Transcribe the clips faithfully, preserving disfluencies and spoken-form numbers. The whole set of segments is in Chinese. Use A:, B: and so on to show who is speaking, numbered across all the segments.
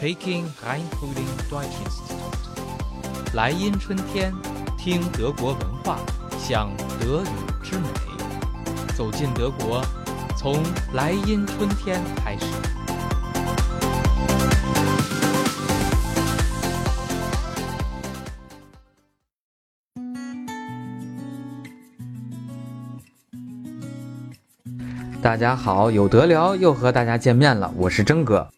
A: Peking Rheinfrühling Deutschinstitut。来阴春天，听德国文化，享德语之美。走进德国，从来阴春天开始。
B: 大家好，有得聊又和大家见面了，我是征哥。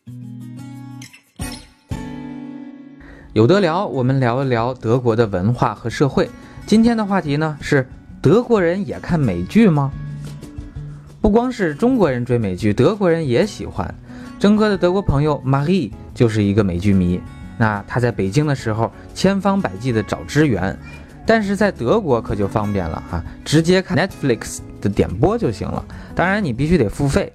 B: 有得聊，我们聊一聊德国的文化和社会。今天的话题呢是德国人也看美剧吗？不光是中国人追美剧，德国人也喜欢。征哥的德国朋友 Marie 就是一个美剧迷，那他在北京的时候千方百计的找支援，但是在德国可就方便了啊，直接看 Netflix 的点播就行了，当然你必须得付费。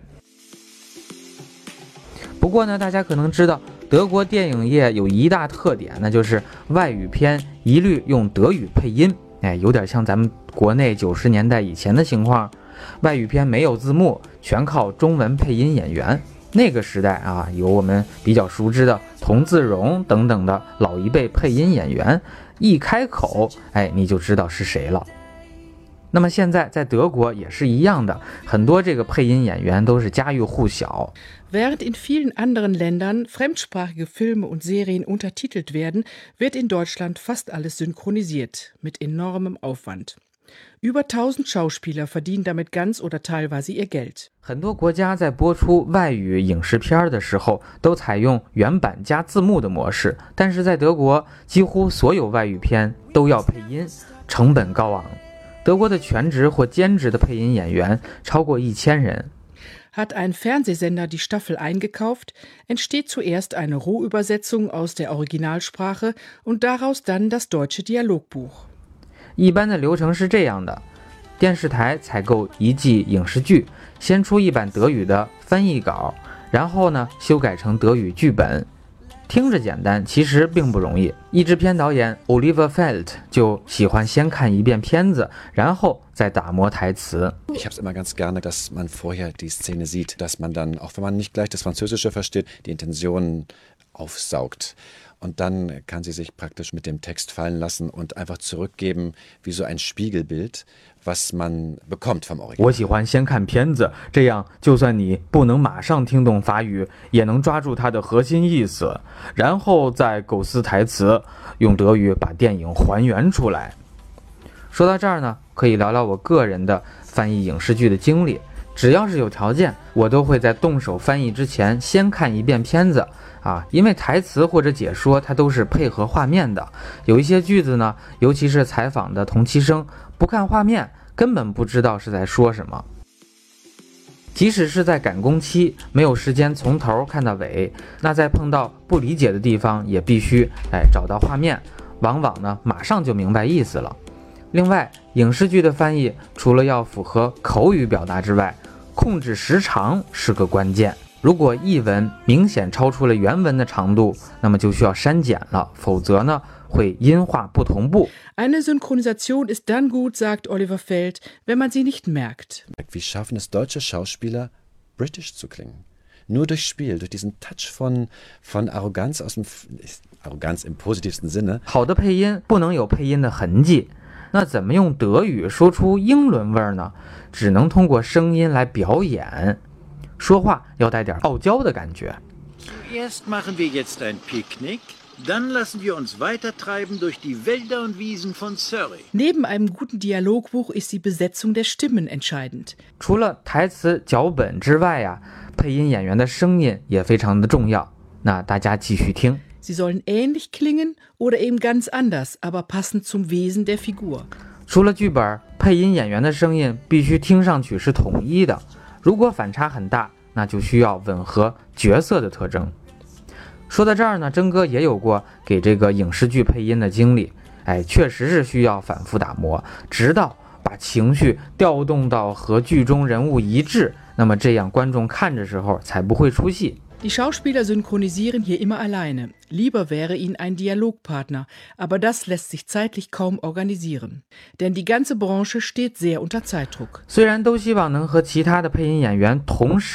B: 不过呢，大家可能知道德国电影业有一大特点，那就是外语片一律用德语配音，哎，有点像咱们国内九十年代以前的情况，外语片没有字幕，全靠中文配音演员。那个时代啊，有我们比较熟知的童自荣等等的老一辈配音演员，一开口，哎，你就知道是谁了。那么现在在德国也是一样的，很多这个配音演员都是家喻户晓。
C: Während in vielen anderen Ländern fremdsprachige Filme und Serien untertitelt werden, wird in Deutschland fast alles synchronisiert, mit enormem Aufwand. Über tausend Schauspieler verdienen damit ganz oder teilweise ihr Geld.
B: 很多国家在播出外语影视片的时候都采用原版加字幕的模式，但是在德国几乎所有外语片都要配音，成本高昂。德国的全职或兼职的配音演员超过一千人。
C: Hat ein Fernsehsender die Staffel eingekauft, entsteht zuerst eine Rohübersetzung aus der Originalsprache und daraus dann das deutsche Dialogbuch.
B: 一般的流程是这样的，电视台采购一季影视剧，先出一版德语的翻译稿，然后呢修改成德语剧本。听着简单，其实并不容易。译制片导演 Oliver Feld 就喜欢先看一遍片子，然后再打磨台词。
D: Ich habe es immer ganz gerne, dass man vorher die Szene sieht, dass man dann, auch wenn man nicht gleich das Französische versteht, die Intentionen aufsaugt. Und dann kann sie sich praktisch mit dem Text fallen lassen und einfach zurückgeben, wie so ein Spiegelbild, was man bekommt vom Original.
B: 我喜欢先看片子，这样就算你不能马上听懂法语，也能抓住它的核心意思，然后再构思台词，用德语把电影还原出来。说到这儿呢，可以聊聊我个人的翻译影视剧的经历。只要是有条件，我都会在动手翻译之前先看一遍片子啊，因为台词或者解说它都是配合画面的，有一些句子呢，尤其是采访的同期声，不看画面根本不知道是在说什么。即使是在赶工期，没有时间从头看到尾，那在碰到不理解的地方，也必须哎找到画面，往往呢马上就明白意思了。另外，影视剧的翻译除了要符合口语表达之外，控制时长是个关键。如果译文明显超出了原文的长度，那么就需要删减了，否则呢会音画不同步。
C: Eine Synchronisation ist dann gut, sagt Oliver Feld, wenn man sie nicht merkt.
D: Wie schaffen es deutsche Schauspieler, British zu klingen? Nur durch Spiel, durch diesen Touch von, von Arroganz aus dem Arroganz im positivsten Sinne.
B: 好的配音不能有配音的痕迹。那怎么用德语说出英伦味儿呢？只能通过声音来表演，说话要带点傲娇的感觉。
E: Zuerst machen wir jetzt ein Picknick, dann lassen wir uns weitertreiben durch die Wälder und Wiesen von Surrey.
C: Neben einem guten Dialogbuch ist die Besetzung der Stimmen entscheidend.
B: 除了台词脚本之外呀、啊，配音演员的声音也非常的重要。那大家继续听。
C: Sie sollen ähnlich klingen oder eben ganz anders, aber passend zum Wesen der Figur.
B: 除了剧本，配音演员的声音必须听上去是统一的。如果反差很大，那就需要吻合角色的特征。说到这儿呢，征哥也有过给这个影视剧配音的经历，哎，确实是需要反复打磨，直到把情绪调动到和剧中人物一致，那么这样观众看的时候才不会出戏。
C: Die Schauspieler synchronisieren hier immer alleine. Lieber wäre ihnen ein Dialogpartner, aber das lässt sich zeitlich kaum organisieren. Denn die ganze Branche steht sehr unter Zeitdruck.
B: 虽然都希望能和其他的配音演员同时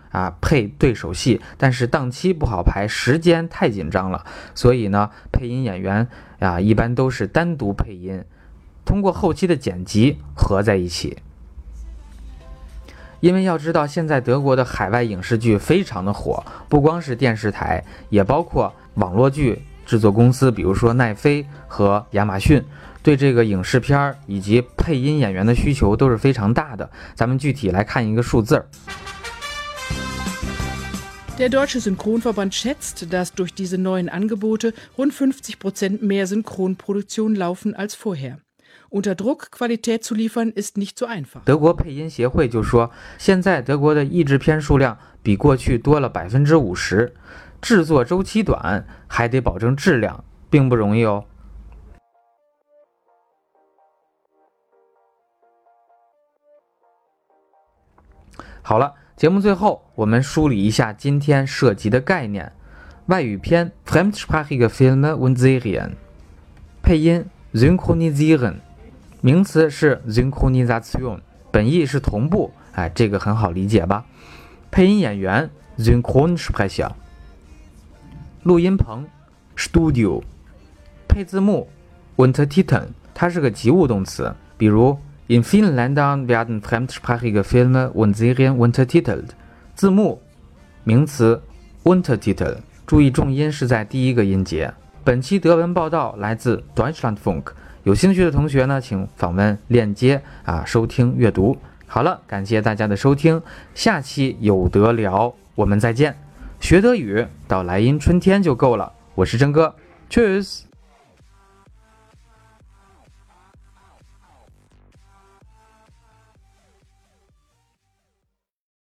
B: 啊配对手戏，但是档期不好排，时间太紧张了，所以呢，配音演员啊一般都是单独配音，通过后期的剪辑合在一起。因为要知道，现在德国的海外影视剧非常的火，不光是电视台，也包括网络剧制作公司，比如说奈飞和亚马逊，对这个影视片以及配音演员的需求都是非常大的。咱们具体来看一个数字。
C: Der Deutsche Synchronverband schätzt, dass durch diese neuen Angebote rund fünfzig Prozent mehr Synchronproduktionen laufen als vorher.Unter Druck Qualität zu liefern ist nicht so einfach.
B: 德国配音协会就说，现在德国的译制片数量比过去多了百分之五十，制作周期短，还得保证质量，并不容易哦。好了，节目最后我们梳理一下今天涉及的概念：外语片 （Fremdsprachige Filme und Serien）， 配音 （Synchronisieren）。名词是 Synchronisation， 本意是同步，哎，这个很好理解吧？配音演员 Synchronsprecher， 录音棚 Studio， 配字幕 Untertiteln， 它是个及物动词，比如 In vielen Ländern werden fremdsprachige Filme und Serien untertitelt， 字幕名词 Untertitel， 注意重音是在第一个音节。本期德文报道来自 Deutschlandfunk。有兴趣的同学呢，请访问链接啊，收听阅读。好了，感谢大家的收听，下期有得聊，我们再见。学德语到莱茵春天就够了。我是真哥 ，Tschüss。